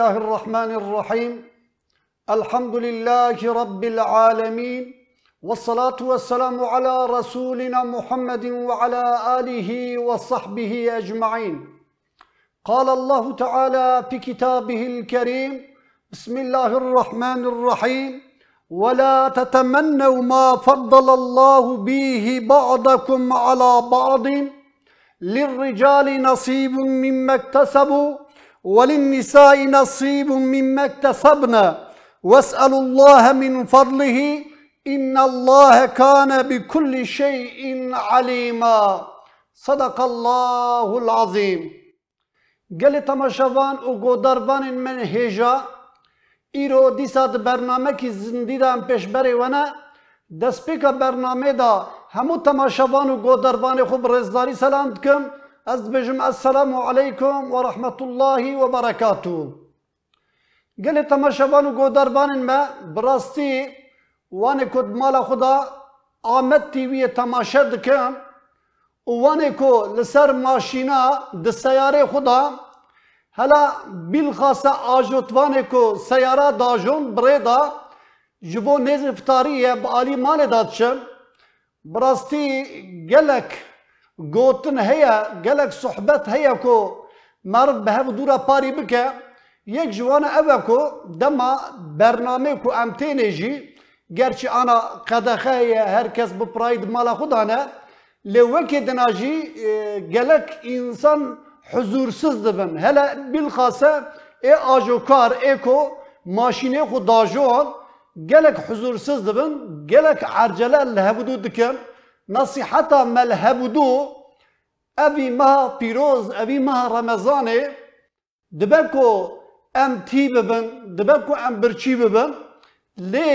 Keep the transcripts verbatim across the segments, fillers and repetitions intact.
الله الرحمن الرحيم الحمد لله رب العالمين والصلاة والسلام على رسولنا محمد وعلى آله وصحبه أجمعين. قال الله تعالى في كتابه الكريم: بسم الله الرحمن الرحيم: ولا تتمنوا ما فضل الله به بعضكم على بعض للرجال نصيب مما اكتسبوا وللنساء نصيب مما اكتسبنا واسألوا الله من فضله إن الله كان بكل شيء عليما. صدق الله العظيم. گل تماشاوان و گوداروان من هجا ایرو دیسات برنامه کی زندگی دام پیش بری ونه دست پیکا برنامه دا همو تماشاوان و گوداروان خوب رزداری سلام کم. از بجم السلام علیکم و رحمت الله و برکاته. گل تماشاوان و گوداروان ما براستی وانه کد مال خدا آمد تیوی تماشا دکن و وانه کو لسر ماشینا د سیاره خدا هلا بالخاصه آجوتوانه کو سیاره داجون بريدا جبو نز افطاریه با علی مال دادشن براستی گلک گوتن هيا گلک صحبت هيا کو مرد به دورا پاری بکه یک جوان اوه کو دما برنامه کو امتینجی گرچه انا قدخه herkes bu prayid mala خودانه لوکی دناجی گلک انسان حضوrsuz دبن هلا بالخاصه ای آجوکار ای کو ماشینه خود داجون گلک حضوrsuz دبن گلک عرجله لهبودو دکن نصيحتا ملهبودو اوی ماه پیروز اوی ماه رمضانه دبکو ام تی ببن دبکو ام برچی ببن لی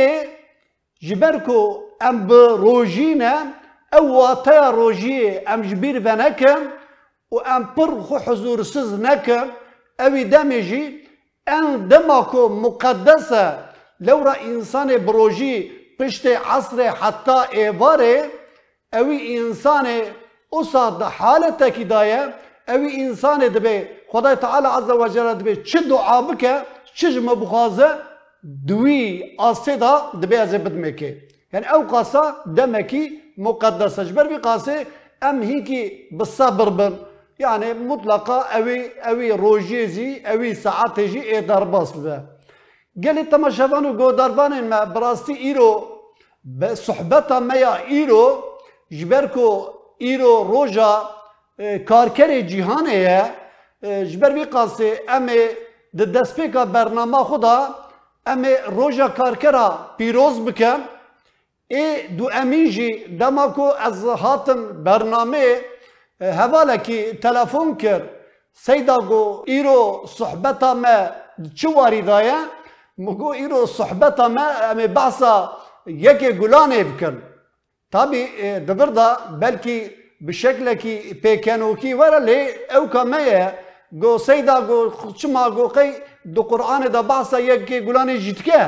جبركو ام بروجينا او واتيا روجي ام جبير فنكم و ام برخو حضور سز نكم اوي دمجي ان دمكو مقدسة لو را انسان بروجي پشت عصر حتى ايواري اوي انسان اصاد حالتك دايا اوي انسان دبي خدای تعالى عز وجل دبي چه دعا بكه چه مبخازه دوی آسیدا دبی از بدمکی یعنی او قاسا دمکی مقدسه جبر بی قاسه ام هی کی بالصبر بن yani mutlaka evi evi rojezi evi saateci e darbas be geli tamaşavanı godarvanın me brasti iro be sohbeta meya iro jberko iro roja karkere cihane ye jber bی قاسه ام de despeka bernama xuda ame roja karkera piroz bikem e du eminji demako az hatim bername hevala ki telefon kir seyda go iro sohbeta me çuvari daya mugo iro sohbeta me ame bahsa yeke gulane bikin tabi devir da belki bir şekle ki pekenoki var le ev kameye go seyda go çima go kay do Kur'an da bahsa yek gulane jitke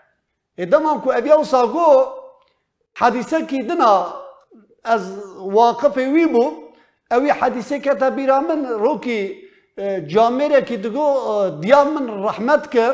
e demam ku ev yawsa go hadise ki dina az waqif wi bu ev hadise katabira min roki camere ki digo diyam min rahmet kir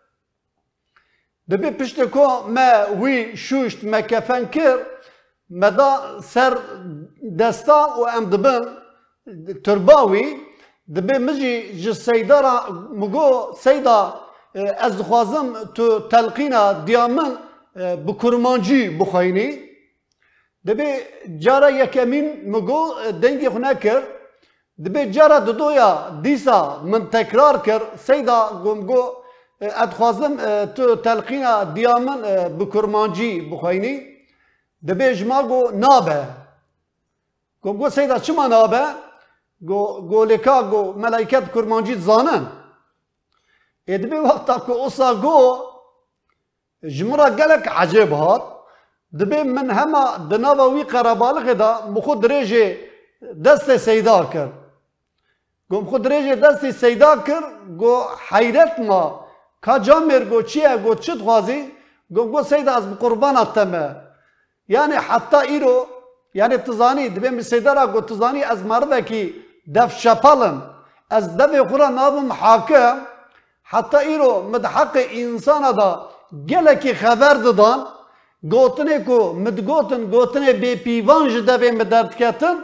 debi pişte ko me wi şuşt me kefen kir meda ser desta o em dibin turbawi دبی مجی جس سیدارا مگو سیدا از خوازم تو تلقینا دیامن بکرمانجی بخاینی دبی جارا یکمین مگو دنگی خونه کر دبی جارا دودویا دیسا من تکرار کر سیدا گمگو ادخوازم تو تلقینا دیامن بکرمانجی بخاینی دبی جماگو نابه گمگو سیدا چما نابه گو گولکا گو ملائکت کرمانجی زانن ادبی وقتا کو اوسا گو جمرا گلک عجب هات دبی من هما دناوا وی قرابالغ دا مخود درجه دست سیدا کر گم خود درجه دست سیدا کر گو حیرت ما کا جامر گو چیه گو چت غازی گم گو سیدا از قربان اتمه yani hatta iro yani tızani dibê misedara got tızani ez marve ki def şapalın ez devê xura nabim hakim Hatta îro midheqê insana da gelekî xeber didan gotinê ku midgotin gotinê bêpîvan ji devê me derdiketin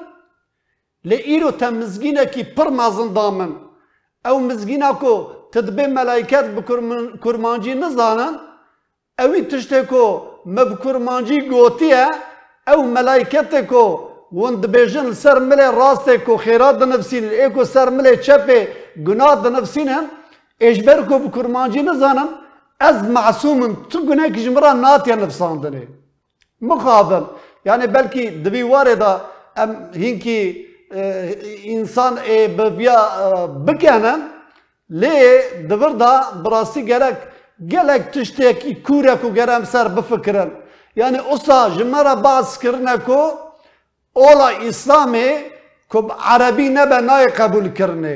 lê îro te mizgînekî pir mezin damin ew mizgîna ku tu dibê meleyket bi kurmancî nizanin ewî tiştê ku me bi kurmancî gotiye ew meleyketek ku wan dibêjin li ser milê rastê ku xêrat dinivîsînin ê ku ser milê çepê gunah dinivîsînin ê ji ber ku bi kurmancî nizanin ez masûmim tu gunekî ji min re natiye nivîsandinê mixabin yani belkî di vî warê da em hinkî însan ê bi viya bikenin lê di vir da bi rastî gerek gelek tiştekî kûr e ku gerem ser bifikirin yani wisa ji me re behs kirine ku ola İslamê ku bi erebî nebe nayê qebûlkirinê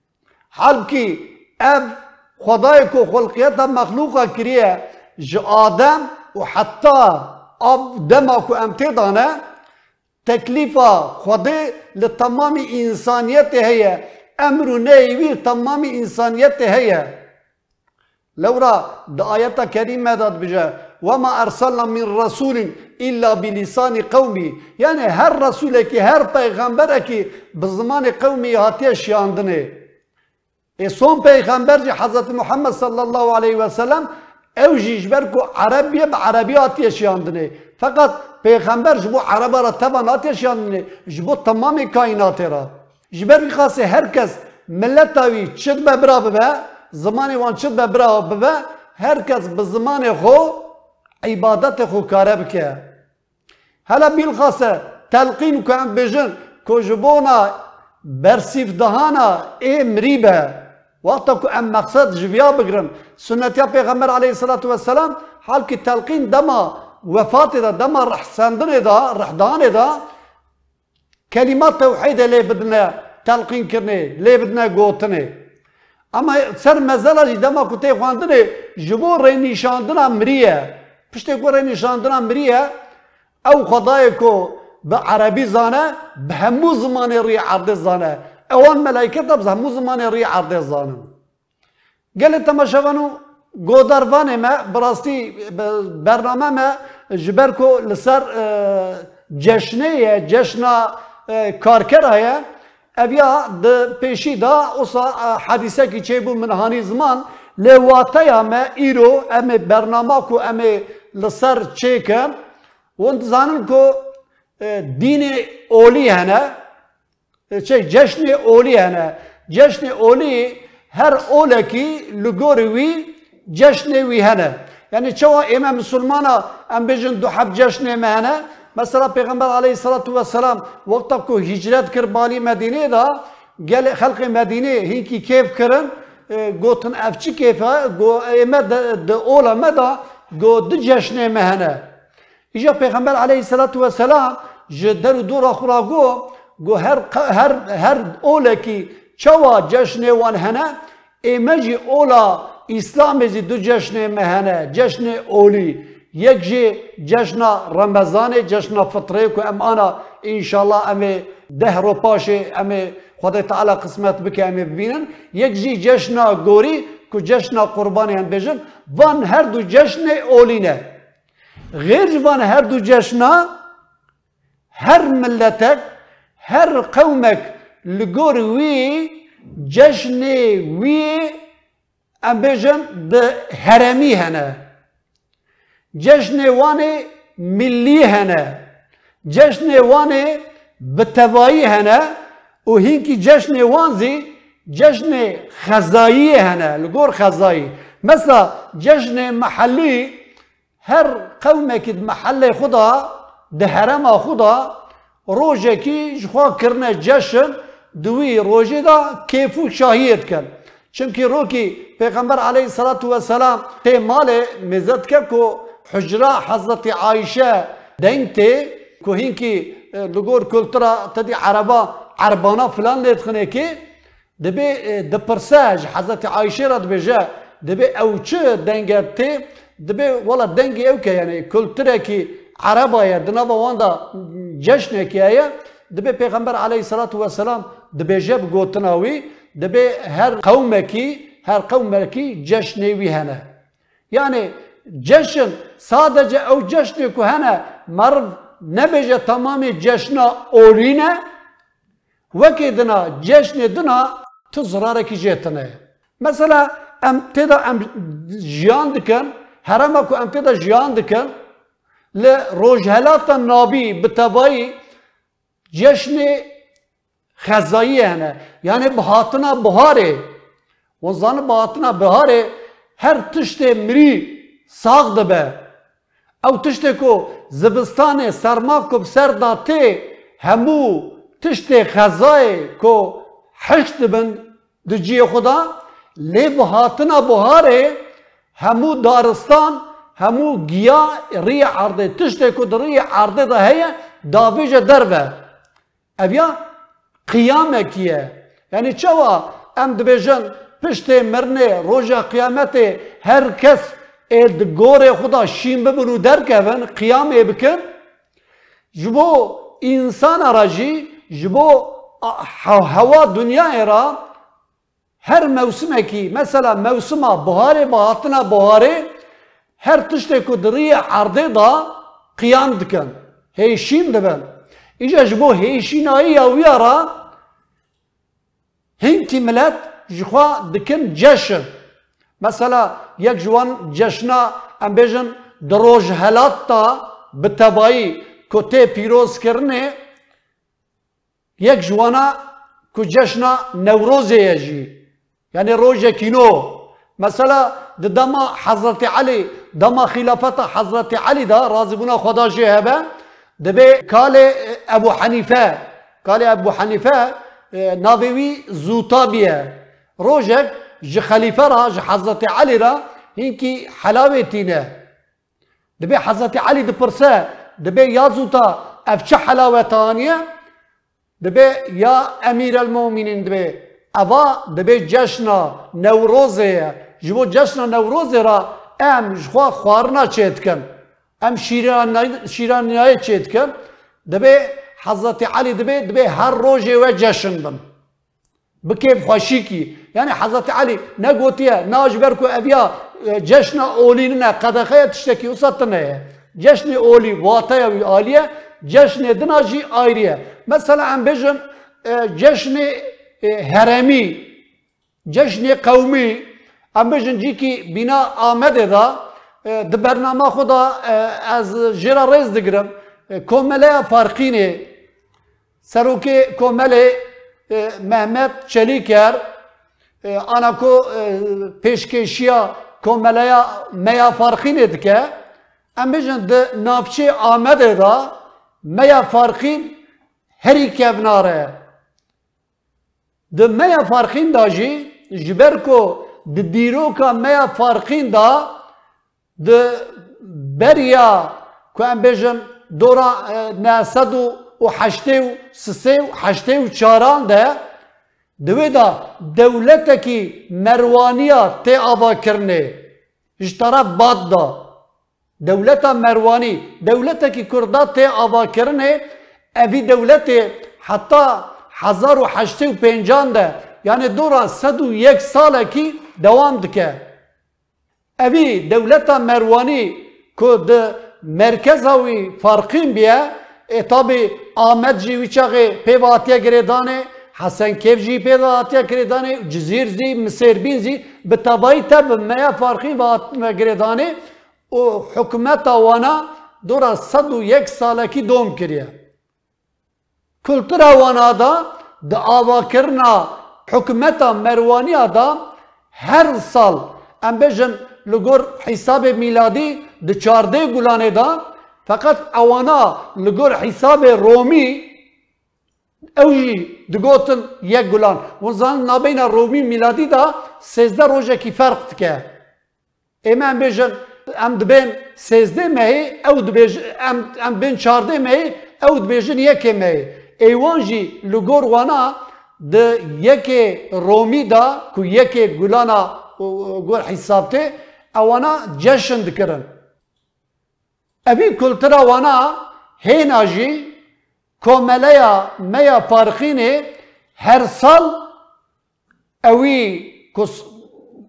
halkî ev xwedayê ku xulqiyeta mexlûqa kiriye ji adem û heta av dema ku em tê dane teklîfa xwedê li temamî însaniyetê heye emr û nehî wî temamî însaniyetê heye lewra di ayeta kerîme de dibêje وَمَا اَرْسَلْنَا مِنْ رَسُولٍ اِلَّا بِلِسَانِ قَوْمِي yani her Resulekî her peygamberekî bi zimanê qewmî hatiye şiyandinê e son peygamber jî Hazreti Muhammed sallallahu aleyhi ve sellem ew jî ji ber ku Erebiye bi Erebî hatiye şiyandinê fakat peygamber ji bo Ereba re teva natiye şiyandinê ji bo temamê kaînatê re ji ber vî xasê herkes milleta wî çi dibe bira bibe zimanê wan çi dibe bira bibe herkes bi zimanê xwe îbadetê xwe kare bike hele bîlxase telqîn ku em bêjin ku ji bona bersîvdihana ê mirîbe wexta ku em meqsed ji viya bigirin sünnetiya peygamber aleyhissalatu vesselam halkî telqîn dema vefatê de dema rihsendinê de rihdanê de kelimat tewhîdê lê bidine telqînkirinê lê bidine gotinê ama ser mezela jî dema ku tê xwandinê ji bo rênîşandina mirî piştê ku rênîşandina mirî ye ew xwedayê ku bi erebî zane bi hemû zimanê rûyê erdê zane ewan meleyket de bi hemû zimanê rûyê erdê zanin gelê temaşevan û godarvanê me bi rastî bername me ji ber ku li ser ceşnê ye ceşna karkera ye ev ya di pêşî da wisa hedîsekî çêbû min hanî ziman lê wateya me îro em ê bernama ku em ê li ser çêkin wan dizanin ku dînê olî hene şey ceşnê olî hene ceşnê olî her olekî li gorî wî ceşnê wî hene yani çawa ême misilmana em bêjin du heb ceşnê me hene mesela peygamber aleyhissalatu vesselam wexta ku hicret kir balî Medînê da gelê xelkê Medînê hinkî kêf kirin gotin ev çi kêf e ême di ola me da got du ceşnê me hene îja peygamber aleyhissalatu vesselam ji der û dora xwe ra got got her her her olekî çawa ceşnê wan hene ême jî ola İslamê jî du ceşnê me hene ceşnê olî yek jî ceşna Remezanê ceşna fitrê ku em ana înşallah em ê deh ro paşê em ê Xwedê Teala qismet bike em ê bibînin yek jî ceşna gorî ku ceşna qurbanê em bêjin van her du ceşnê olî ne غêr ji van her du ceşna her milletek her qewmek li gor wî ceşnê wî em bêjin di heremî hene ceşnê wanê millî hene ceşnê wanê bi tevayî hene û hinkî ceşnê wan zî ceşnê xezayî hene li gor xezayî mesela ceşnê mehellî her qewmekî di mehellê xwe da di herema xwe da rojekî ji xwe kirine ceşin di wî rojê da kêf û şahiyê dikin çimkî rokî peygamber aleyhissalatu vesselam tê malê mêze dike ku hicra Hazreti Ayşe deng tê ku hinkî li gor kultura tedî ereba erbana filan lê dixine kê dibê dipirse ji Hazreti Ayşe re dibêje dibê ew çi denge tê dibê wala dengê ew ke yani kulturekî ereba ye di nava wan da ceşnekî heye dibê peygamber aleyhissalatu vesselam dibêje bi gotina wî dibê her qewmekî her kavmeki ceşnevi hene. Yani ceşn sadece o ceşni ku hene marv ne beje tamamı ceşna oline veki dina ceşni dina tu zarareki jetine. Mesela em teda em jiyan dikin herama ku em teda jiyan dikin le rojhelata nabi bitabayi ceşni xezayı hene. Yani bahatına buhare o zanı bahatına buhare her tişte miri sağ dibe. Ew tiştê ku zivistanê serma ku bi ser datê hemû tiştê xezayê ku heş dibin di ciyê xwe da lê bi hatina buharê hemû daristan hemû giya rêya erdê tiştê ku di rêya erdê de heye davêje derve. Ev ya qiyamekî ye. Yani çawa em dibêjin piştê mirinê roja qiyametê herkes ê di gorê xwe da şîn bibin û derkevin qiyamê bikin ji bo însana re jî ji bo hewa dunyayê re her mewsimekî mesela mewsima buharê bi hatina buharê her tiştê ku di rêya erdê da qiyam dikin hêşîn dibin. İşte ji bo hêşînayiya wî re hinkî millet ji xwe dikin ceşn. Mesela yek ji wan ceşna em bêjin di rojhelat da bi tebayî ku tê pîrozkirinê yek ji wana ku ceşna Newrozê ye jî. Yani rojekî nû. Mesela di dema Hezretî Elî dema xîlafeta Hezretî Elî da razîbûna Xweda jê hebe dibe kalê Ebu Hanife kalê Ebu Hanife navê wî Zûtabî ye. Rojek ji xelîfe ra ji Hezretî Elî ra hinkî helavê tîne. Dibe Hezretî Elî dipirse dibe ya zûta ev çi helawetan ye? Dibe ya Emîrelmûminîn dibe eva dibe ceşna Newrozê ye. Ji bo ceşna Newrozê ra em ji xwe xwarina çê dikin. Em şîraniyayê çê dikin. Dibe Hezretî Elî dibe dibe her rojê we ceşn bin. Bi kêfxweşîkî. Yani Hezretî Elî ne gotiye na ji ber ku ev ya ceşna olînine qedexeya tiştekî wisa tune ye. Ceşnê olî wateya wî aliye ceşnê dina jî ayrı ye. Mesela em bêjin ceşnê heremî ceşnê qewmî em bêjin cîkî bîna Amedê da di bername xwe da ez jê re rêz digirim komeleya Farqînê serokê komelê Mehmet Çelîker ana ku pêşkêşiya komeleya Meya Farqînê dike em bêjin di navçê Amedê da Meya Farqîn herî kevnar e. Di Meya Farqîn da jî ji ber ku di dîroka Meya Farqîn da di beriya ku em bêjin dora ne sed û heştê û sisê û heştê û çaran de di wê da dewletekî Merwaniya tê avakirinê ji taraf Bad da dewleta Merwanî dewletekî Kurda tê avakirinê evî dewletê heta hezar û heştê û pêncan de yani dora sed û yek salekî dewam dike. Evî dewleta Merwanî ku di merkeza wî Farqîn biye e tabi Ahmed jî wî çaxê pê hatiye girêdanê Hesenkêv jî pê hatiye girêdanê Cizîr zî Misêrbîn zî bi tebayî te bi Meya Farqîn ve girêdanê û hikûmeta wana dora sed û yek salekî dom kiriye. Kultura wana da di avakirina hikûmeta Merwaniya da her sal em bêjin li gor hîsabê mîladî di çardê gulanê da fakat ewana li gor hîsabê Romî ew jî digotin yek gulan. Hûn zanin nabeyna Romî mîladî da sêzde rojekî ferq dike. Ême em bêjin em dibên sêzdê mehê ew dibêjin em em bên çardê mehê ew dibêjin yekê mehê. Êwan jî li gor wana di yekê Romî da ku yekê gulana gor hîsab tê ewana ceşn dikirin. Evî kultura wana hêna jî komeleya Meya Farqînê her sal ewî ku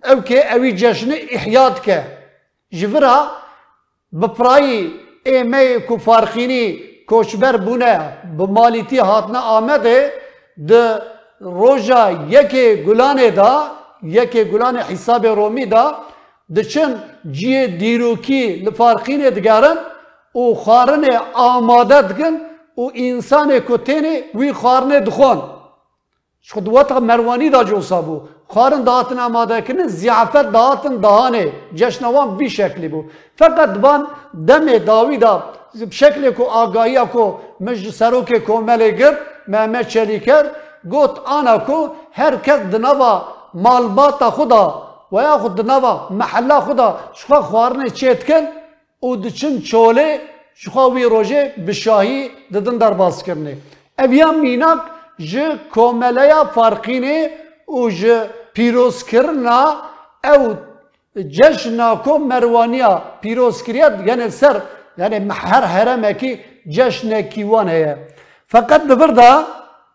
ev ke evi cejni ihyat ke. Jivira bipirayî êmeyê ku farxînî koçber bûne bi malîtî hatine Amedê di roja yekê Gulanê da yekê Gulanê hîsabê Romî da diçin ciyê dîrokî li farxînê digerin û xwarinê amade dikin û însanê ku têne wî xwarinê dixwin. Ji weta merwanî da cosa bû. Xwarin dahatin amadekirin ziyafet dahatin dahanê. Ceşna wan vî şeklî bû. Feqet van demê dawî da şeklê ku agahiya ku min ji serokê komelê gir Mehmet Çelîker got ana ku herkes di nava malbata xwe da veya xwe di nava mehella xwe da ji xwe xwarinê çê dikin û diçin çolê ji xwe wî rojê bi şahî didin derbaskirinê. Ev ya mînak ji komeleya farxînê û ji pîrozkirina ew ceşna ku merwaniya pîrozkiriya yani ser yani her heremekî ceşnekî wan heye. Feqet li vir da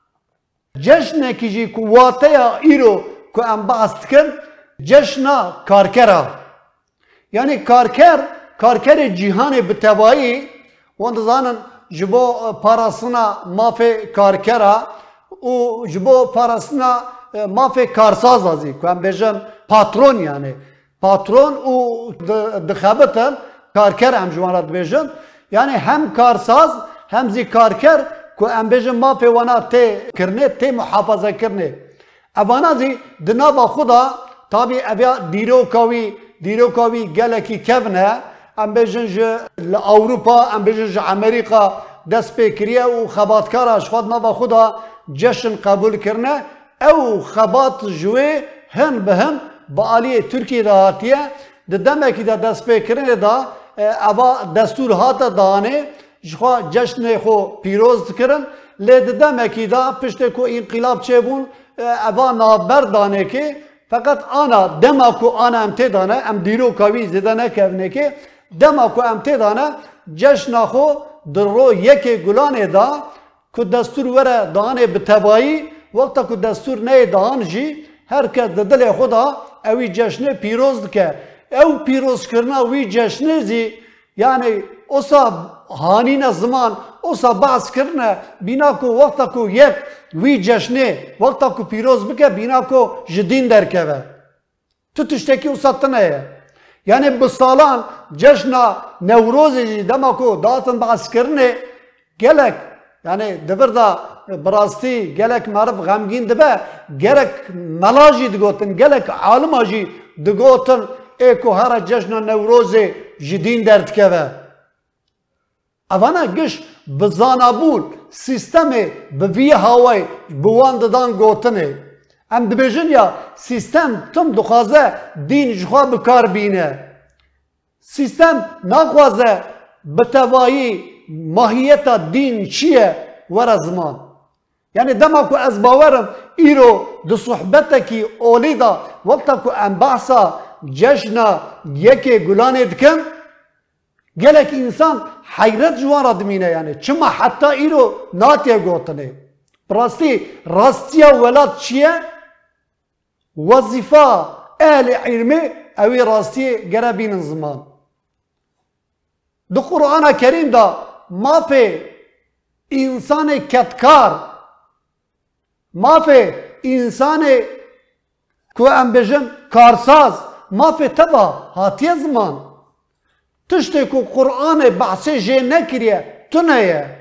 ceşnekî jî ku wateya îro ku em behs dikin ceşna karkera. Yani karker karkerê cîhanê bi tevahî wan dizanin ji bo parastina mafê karkera û ji bo parastina mafê karsaz azî ku em bêjin patron yani. Patron û dixebitin karker em ji wan re dibêjin. Yani hem karsaz hem zî karker ku em bêjin mafê wana tê kirinê tê muhafazekirinê. Evana zî di nava xwe da tabî ev ya dîroka wî dîroka wî gelekî kevin e em bêjin ji li Ewropa em bêjin ji Amerîka dest pê kiriye û xebatkara ji xwe di nava xwe da ceşn qebûl kirine ew xebat ji wê hin bi hin bi aliyê Tirkiyê de hatiye di demekî de dest pê kirinê da eva destûr hate danê ji xwe ceşnê xwe pîroz dikirin lê di demekî da piştê ku înqîlab çêbûn eva naber danekê feqet ana dema ku ana em tê dane em dîroka wî zêde nekevnekê dema ku em tê dane ceşna xwe di ro yekê Gulanê da ku destûr were danê bi tevahî wexta ku destûr neyê dahan jî herkes di dilê xwe da ew wî ceşnê pîroz dike. Ew pîrozkirina wî ceşnê zî yani osa hanîne ziman osa behs kirine bîna ku wexta ku yek wî ceşnê wexta ku pîroz bike bîna ku ji dîn derkeve. Tu tiştekî wisa tune ye. Yani bi salan ceşna Newrozê jî dema ku dahatin behskirinê gelek yani di vir da bi rastî gelek meriv xemgîn dibe gerek mela jî digotin gelek alima jî digotin ê ku here ceşna Newrozê ji dîn derdikeve. Evana giş bi zanabûn sîstemê bi vî hawayê bi wan didan gotinê. Em dibêjin ya sîstem tim dixwaze dîn ji xwe bikar bîne. Sîstem naxwaze bi tevahî mahiyeta dîn çi ye were ziman. Yani dema ku ez bawerim îro di sohbetekî olî da wexta ku em behsa ceşna yekê Gulanê dikin gelek însan heyret ji wan re dimîne yani. Çima heta îro natiye gotinê. Bi rastî rastiya welat çi ye? Wezîfa ehlê ilmê ew ê rastiyê gere bînin ziman. Di Qur'ana Kerîm da mafê însanê ketkar mafê însanê ku em bêjin karsaz mafê teva hatiye ziman. Tiştê ku Qur'anê behsê jê nekiriye tune ye.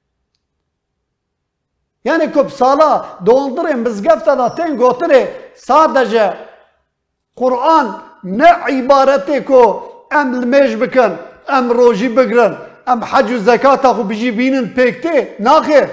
Yani ku sala doldurê mizgefta da tên gotinê sadece Qur'an ne ibaretê ku em li mêj bikin em rojî bigirin em hec û zekata xwe bijî bînin pêktê naxir.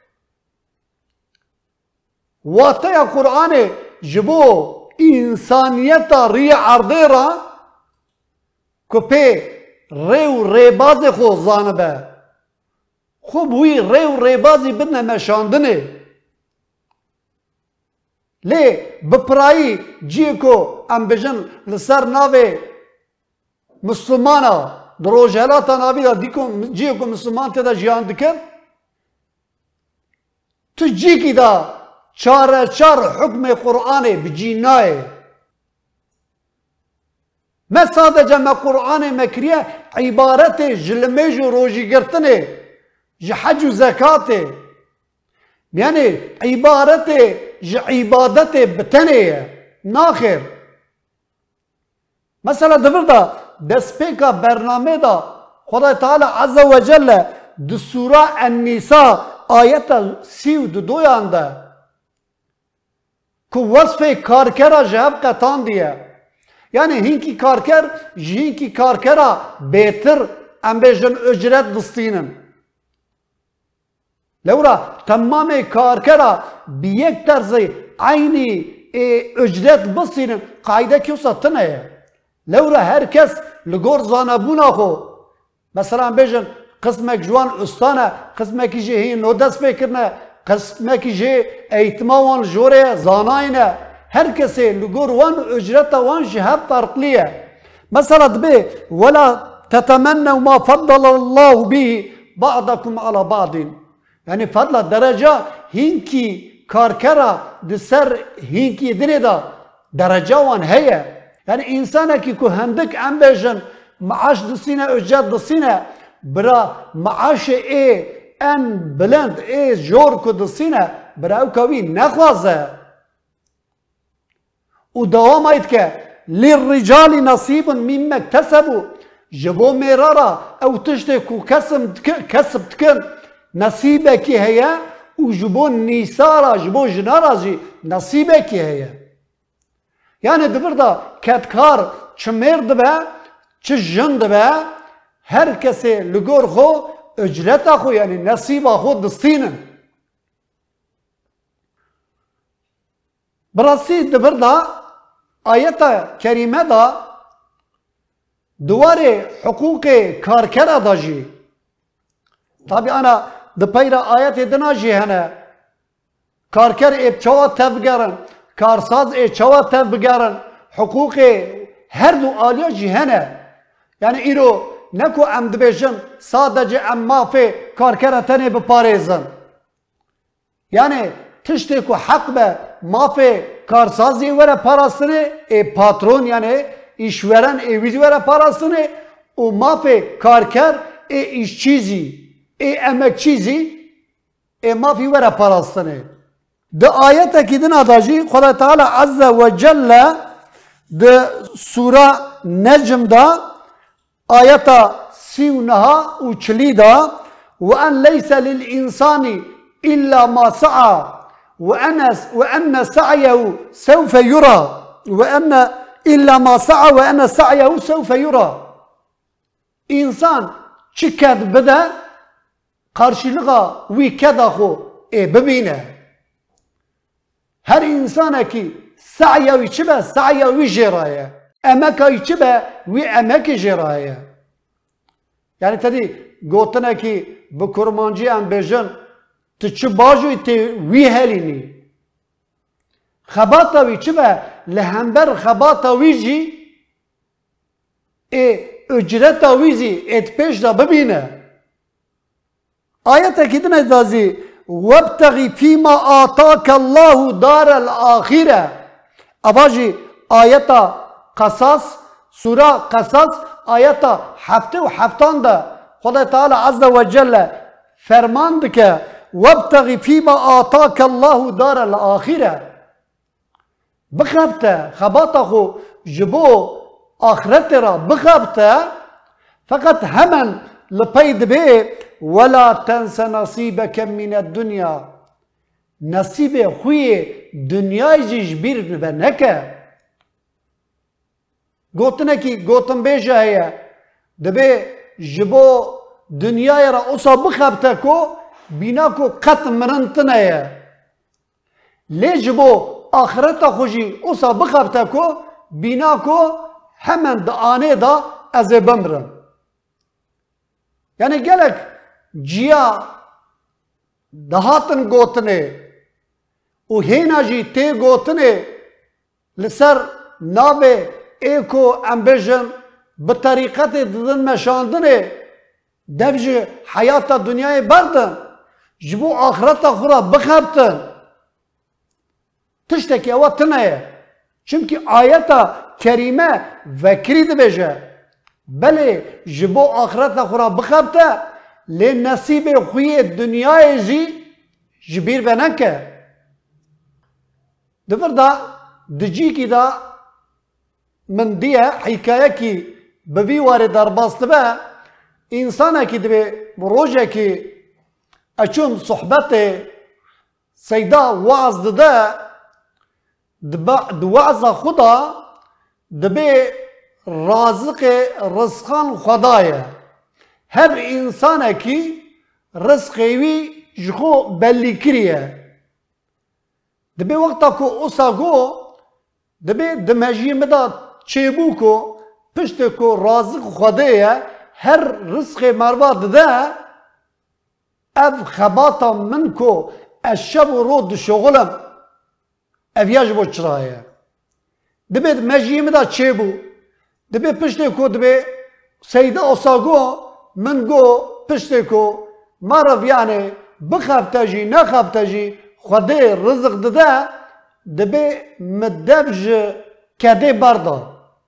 Wateya Qur'anê ji bo însaniyeta rî erdê ra ku pê rê û rêbazê xwe zanibe. Xwe bi wî rê û rêbazî bidine meşandinê. Lê bi pirayî ciyê ku em bêjin li ser navê Müslümana di rojhelata navî da ciyê ku Müslüman tê de jiyan dikin tu cîkî da çareçar hukmê Qur'anê bi cî nayê. Me sadece me Kur'an-ı Mekriye ibareti jilme ju roji girtine, ji hac u zekate. Yani ibareti ji ibadeti bitene. Nakhir. Mesela devir da despeka bername da Xuda Teala Azze ve Celle di Sura En-Nisa ayeta siv du doyanda ku vasfe karkera jev qetan diye. Yani hinki karker jinki karkera betir embejin ücret distinin. Levra tamamı karkera biyek terzi aynı e, ücret bistinin kaide kiyosa tınaya. Levra herkes ligor zanabuna xo. Mesela bejin kısmek juan ustana, kısmek ji no dest pekirne, kısmek ji eğitma wan jore zanayne. Herkese ligor wan ücreta wan jihad farklıya. Mesela dbe wala tetemennev ma faddalallahu bihi ba'dakum ala ba'din. Yani fadla derece hinki karkera diser hinki dineda derece wan heye. Yani insana ki ku hendik embejin maaş dısine ücret dısine bira maaş e en bilend e jor ku dısine bira u kavi nekhaze. U devam ayet ke lirricali nasibun mimme iktesebu jabo merara ev tişte ku kesb tkin nasibeki heye u jabo nisara jabo jinara ji nasibeki heye. Yani devir da ketkar çmer dibe, çi jin dibe, herkese ligor xo ücreta xo yani nasiba xo distinin. Birasi devir da ayeta kerime da duvarı hukuki karkera da jî. Tabi ana dipeyra ayet edina jî hene karker epçava tevgerin. Karsaz e çava tev bigarin hukuki her du alya cihane. Yani iro neko em dibêjin sadece em mafê karkera tenê biparêzin. Yani tiştê ku hek be mafê karsazê were parastinê e patron yani işveren e wî were parastinê û mafê karker e işçîzî e emekçîzî e mafî were parastinê. De ayet ki din adajî Xuda Teala Azze ve Celle de Sura Necm'da ayeta sivnaha û çilî da ve en leyse lil insani illa ma sa'a ve enne ve enne sa'yehu sevfe yura ve enne illa ma sa'a ve enne sa'yehu sevfe yura. İnsan çiket bide karşılığa wî keda xo e bibîne. Her insana ki sa'ya içi be sa'ya vi jeraya. Emeka içi be vi emeki jeraya. Yani tabi gotana ki bu kurmancı en bejin tçı baju ite vi helini. Xabata vi içi be lehember xabata vi ji e ücreta vi zi et peş da bibine. Ayet ekidine dazi وَابْتَغِ ف۪يمَا آتَاكَ اللّٰهُ دَارَ الْآخِرَةِ Avaji ayeta Kasas, Sura Kasas ayeta hafte ve haftanda Xuda Teala Azze ve Celle fermandı ki وَابْتَغِ ف۪يمَا آتَاكَ اللّٰهُ دَارَ الْآخِرَةِ Bıkhabte, xabata xo jibo ahirete ra bıkhabte fakat hemen لپید به ولا تنس نصیبک من الدنیا نصیب خوی دنیای جبیر و نکه گوتنه کی گوتن بیجه هیا دبی جبو دنیای را اصا بخبته کو بینا کو قط مرنتنه هیا لی جبو آخرت خوشی اصا بخبته کو بینا کو hemen da ane da ez bemrim. Yani gelek ciya dahatın gotine u henaji te gotine لسر نابه ایکو امبیژن به طریقت دادن مشاندنه دفج حیات دنیای بردن جبو آخرت خورا بخبتن تشتکی اوه تنه Çünkü ayeta kerime vekri dibêje belê ji bo axireta xwe ra bixebite lê nesîbê xwe yê dunyayê jî ji bîr ve neke. Di vir de di cîkî de min diye hîkayekî bi vî warê derbas dibe însanekî dibe rojekî eçûn sohbetê seyda waaz dide di waaza xwe de dibe razıqê rizqan Xweda ye. Her însanekî rizqê wî ji xwe bellî kiriye. Dibe wexta ku wisa got dibe di mejiyê me de çêbû ku piştê ku razıq Xwedê ye her rizqê merva dide ev xebata min ku ez şev û roj dişoxilim ev ya ji bo çira ye. Dibe di mejiyê me de çêbû dibe piştê ku dibe seyda wisa got min got piştê ku meriv yani bixebite jî nexebite jî Xwedê rizq dide dibe mi dev ji kedê berda.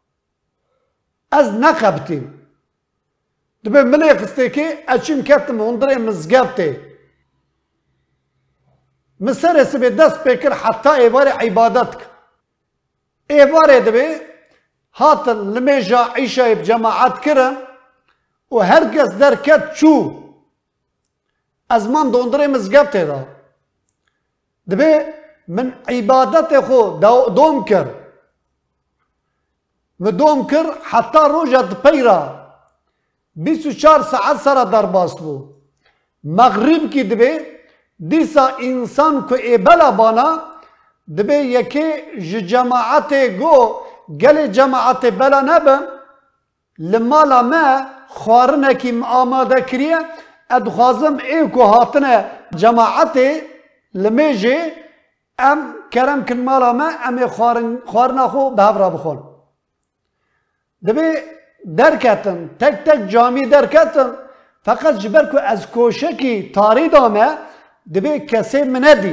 Ez nexebitîm. Dibe milê xistekê ez çûm ketime hundirê mizgeftê. Min serê sibê dest pê kir heta êvarê îbadet kir. Êvarê dibe hatin li mêja îşayê bi cemaet kirin û herkes derket çû. Ez mam di hundirê mizgeftê de. Dibe min îbadetê xwe dom kir. Mi dom kir heta roja dipeyra bîst û çar saet sera derbas bû. Megrîbkî dibe dîsa însan ku ê bela bana dibe yekê ji cemaetê got gelê cemaetê bela nebin li mala me xwarinekî min amade kiriye ez dixwazim ê ku hatine cemaetê li mêjê em kerem kin mala me em ê xwarina xwe bi hev re bixwin. Dibe derketin tek tek camî derketin feqet ji ber ku ez koşekî tarî dame dibe kesê min nedî.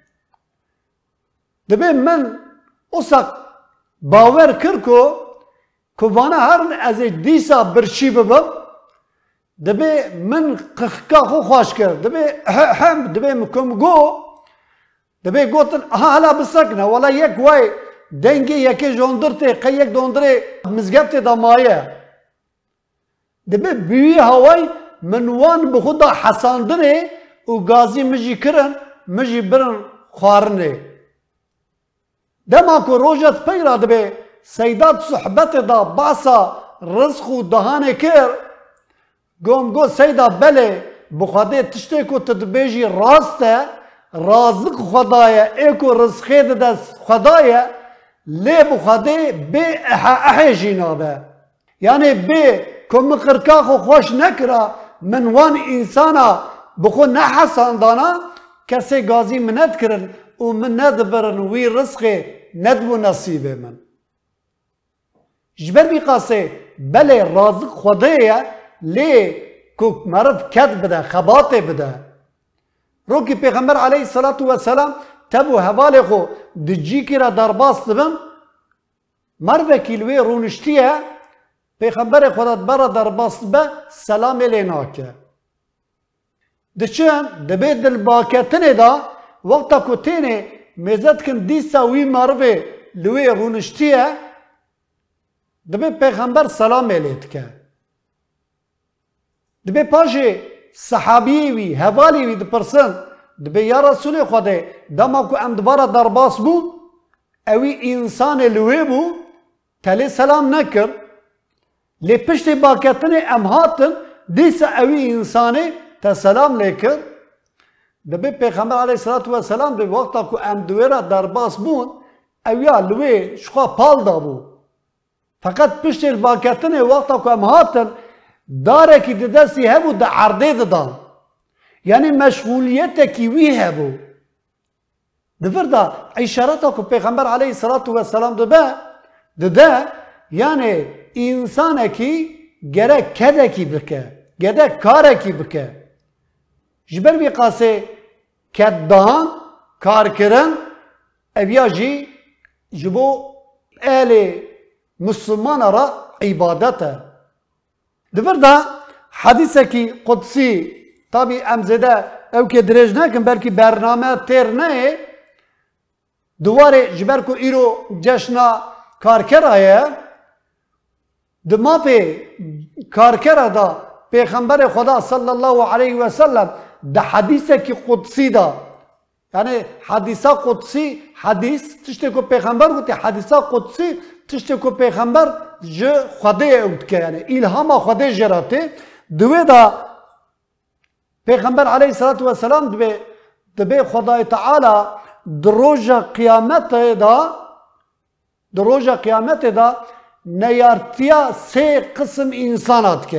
Dibe min wisa bawer kir ku ku vana herin ez ê dîsa birçî bibim dibe min qixika xwe xweş kir. Dibe hem dibe min ku got dibe gotin aha hala bisekine wala yek way dengê yekê ji hundirtê qey yek di hundirê mizgeftê de maye. Dibe bi wî heway min wan bi xwe da hesandirê û gazî min jî kirin min jî birin xwarinê. Dema ku roja dipeyra dibe seyda sohbetê da basa rizq û dihanê kir gom got seyda belê bi Xwedê tiştê ku tu dibêjî rast e razık Xweda ye ê ku rizqê dide Xweda ye lê bi Xwedê bê ehe ehê jî nabe. Yani bê ku min qirka xwe xweş nekira min wan însana bi xwe nehesandana kesê gazî min nedkirin û min nedibirin wî rizqê nedibû nesîbê min. Ji ber vî qasê belê razık Xwedê ye lê ku meriv ket bide xebatê bide. Rokî Pêxember aleyhissalatu vesselam tevû hevalê xwe di cîkê re derbas dibin mervekî li wê rûniştiye Pêxemberê Xwe de bera derbas dibe selamê lê nake. Diçin dibe dilbaketinê de wexta ku têne mêze dikin dîsa wî merivê li wê rûniştiye dibe Pêxember selamê lê dike. Dibe paşê sahabiyê wî hevalê wî dipirsin dibe ya Resulê Xwedê dema ku em dibara derbas bû ewî însanê li wê bû telê selam nekir lê piştê baketinê em hatin dîsa ewî însanê te selam lê kir. Dibe Pêxember aleyhissalatu vesselam dibe wexta ku em di wê re derbas bûn ew ya li wê ji xwe pal dabû. Feqet piştê baketinê wexta ku em hatin darekî di destî hebû di erdê didan. Yani meşgûliyetekî wî hebû. Di vir de îşareta ku Pêxember aleyhissalatu vesselam dibe dide yani însanekî gerek kedekî bike gerek karekî bike. Ji ber vî qasê keddahan karkirin ev ya jî ji bo ehli Müslüman ara ibadete. Divir da hadiseki kudsi tabi emzede evke direj nekin belki bername ter ne duvarı jiber ku iro ceşna karkeraya dmafe karkera da Peygamber Xuda sallallahu aleyhi ve sellem da hadiseki kudsi da yani hadisa kudsi hadis tişte ku Peygamber guti hadisa kudsi tişte ku Peygamber je Xuda'ya utke yani ilhama Xuda jerate dve da Peygamber aleyhissalatu vesselam dve dve Xuda Teala droja kıyamete da droja kıyamete da neyartiya se kısım insan atke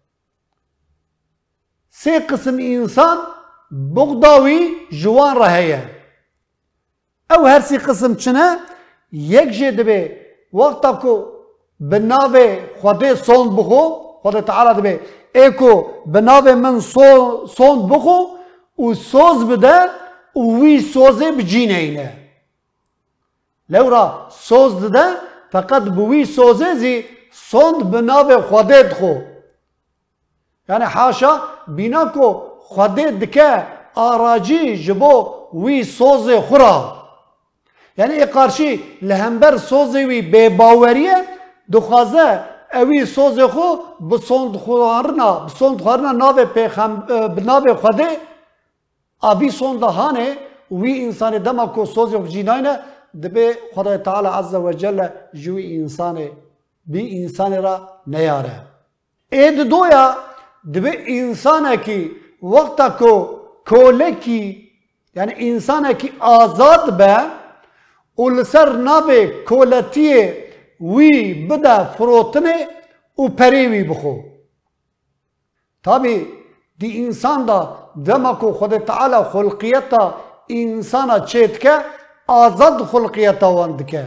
se kısım insan bugdavi juan raheye ev her si kısım çine yek je dve vakta ko binave Xuda son buxo Xuda Teala dve eko binave min son son buxo u soz bide u vi soze bicîneyne lewra soz dide fakat bu vi soze zî son binave Xuda dixo yani haşa bina ko Xuda dike aracî ji bo wî sozê xura yani ê qarşî li hember sozê wî bêbaweriye dixwaze ew wî sozê xwe bi sondxwarina bi sondxwarina navê bi navê Xwedê a vî son da hane wî însanê dema ku sozê xwe cînayne dibe Xuda Teala azze ve celle ji wî însanê bî însanê ra neyare ê di doya dibe însanekî vakta ku kolekî yani însanekî azad be û li ser navê koletiyê wî bide firotinê û perê wî bixo tabi di însan da dema ku Xuda Teala xulqiyeta însana çê dike azad xulqiyeta wan dike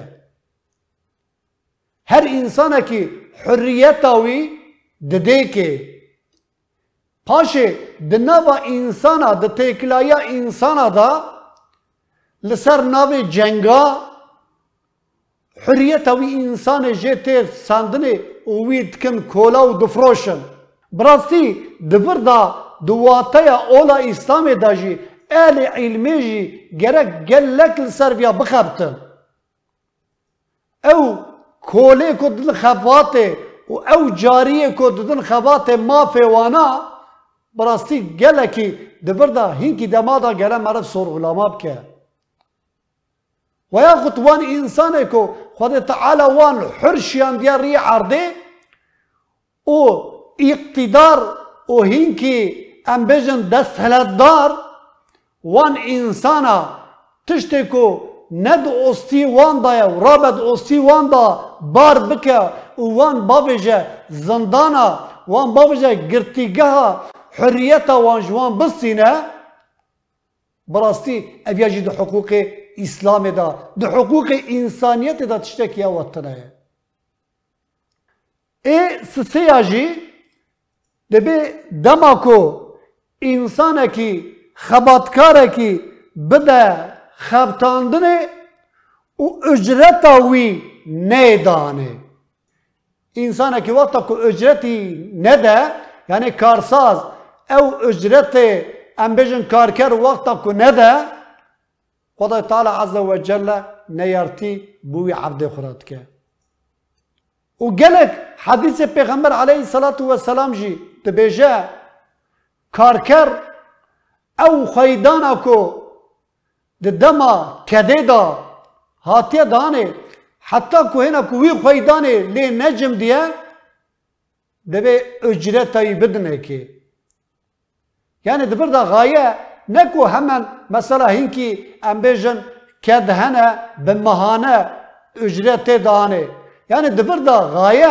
her însanekî hurriyeta wî didêkê paşê di nava însana di têkilaya însana da li ser navê cenga hurriyeta wî însanê jê tê sandinê û wî dikin kola û difroşin bi rastî di vir da di wateya ola İslamê da jî ehlê îlmê jî gerek gelek li ser vêya bixebtin ew kolê ku didin xebatê û ew cariyê ku didin xebatê mafê wana bi rastî gelekî di vir da hînkî dema da gele meriv sorgulama bike veya xut wan însanê ku Xuda Teala wan hur şiyandiya rî erdê û îktidar û hînkî em bêjin desthilatdar wan însana tiştê ku ne di ostî wan da ye rabe di ostî wan da bar bike û wan babêje zindana wan babêje girtîgeha hurriyeta wan ji wan bistîne bi rastî ev ya jî di hiqûqê İslamê da di hiqûqê însaniyetê da tiştekî ya wetine ye ê siseya jî dibe dema ku însanekî xebatkarekî bide xebtandinê û ücreta wî nêdanê însanekî wexta ku ücretî nede yani karsaz ew ücretê em bêjin karker wexta ku nede Xuda Teala azze ve celle neyartî bû wî ebdê xwe re dike û gelek hadîsê Peygamber aleyhissalatu vesselam jî dibêje karker ew xweydana ku di dema kedê da hatiye danê heta ku hêna ku wî xweydanê lê necim diye divê ücreta wî bidinekê yani di vir da gaye ne ku hemen mesela hinkî em bêjin ked hene bi mehane ücretê danê yani di vir da gaye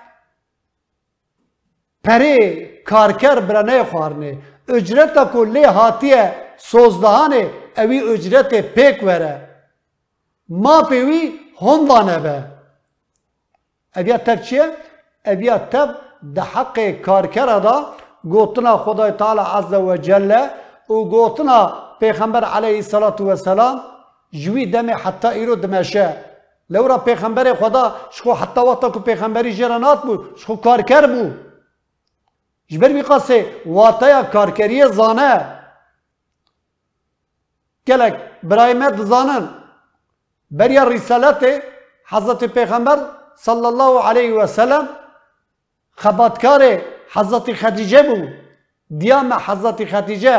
perê karker bire nêxwarinê ücreta ku lê hatiye sozdahanê ew wî ücretê pêk were mafê wî honda nebe ev ya tev çi ye ev ya tev di heqê karkera da gotina Xuda Teala azze ve celle û gotina Peygamber aleyhissalatu vesselam ji wî demê heta îro dimeşe لورا پیغمبر خدا شخو حتی وقتا که پیغمبری جرانات بو شخو کارکر بو جبر بی قصه واتایا کارکری زانه گلک برای مد زانن بریا رسالت حضرت پیغمبر صلی الله علیه و سلم خباتکار حضرت خدیجه بو دیام حضرت خدیجه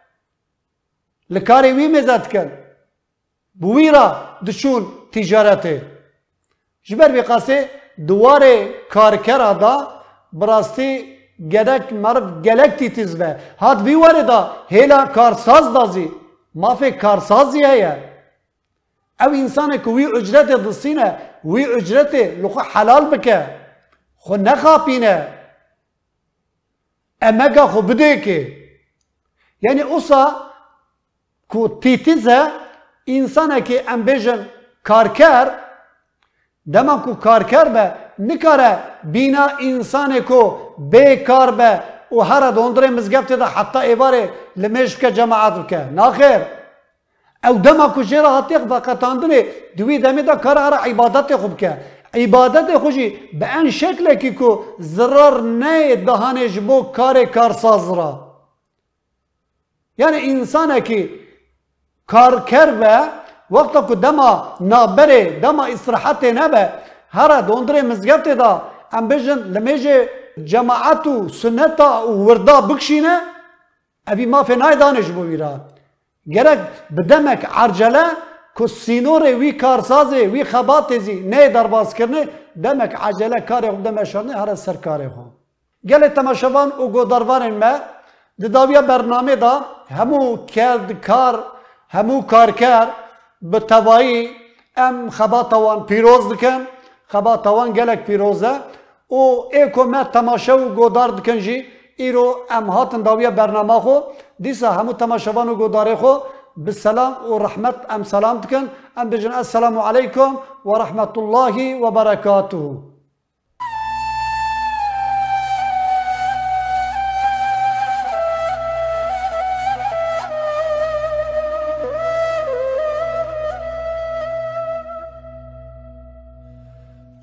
لکاری وی مزد کن بوی را دشون تجارته جبر بی قصه دوار کارکر دا براستی گلک مرد گلک تیتیز به هاد وی واره دا هیلا کارساز دازی مافی کارسازی هیا او انسان که وی اجرت دستینه وی اجرت لخو حلال بکه خو نخاپینه امگا خو بده که یعنی اوسا که تیتیزه انسانه که ام بیجن کارکر دما کو کارکر به نکاره بینا انسانه که بیکار به و هر دوندره مزگفت ده حتی ایواره لمش که جماعت بکه ناخیر او دما کو جرا هاتیق وقتاندنه دوی دمی ده کار هر عبادت خوب که عبادت خوشی به این شکل که که ضرر نه دهانش بو کار کارساز را یعنی انسانه که کارکر به وقتا که دما نابره دما استراحت نبه هر دوندره مزگفت ده ام بیجن لمیجه جماعت و سنت و وردا بکشینه اوی ما فی نای دانش بویرا گرک بدمک عرجله که سینور وی کارسازه وی خباتزی نه درباز کرنه دمک عجله کاری خود دمشانه هر سر کاری خود گل تماشاوان و گوداروان ما دداویا برنامه دا همو کرد کار همو کارکر به توایی ام خباتوان پیروز دکن خباتوان گلک پیروزه و ایکو ما تماشا و گودار دکن جی ایرو ام هاتن داویا برنامه خو دیسا همو تماشاوان و گوداره خو بالسلام و رحمت ام سلام دکن ام بجن السلام علیکم و رحمت الله و برکاته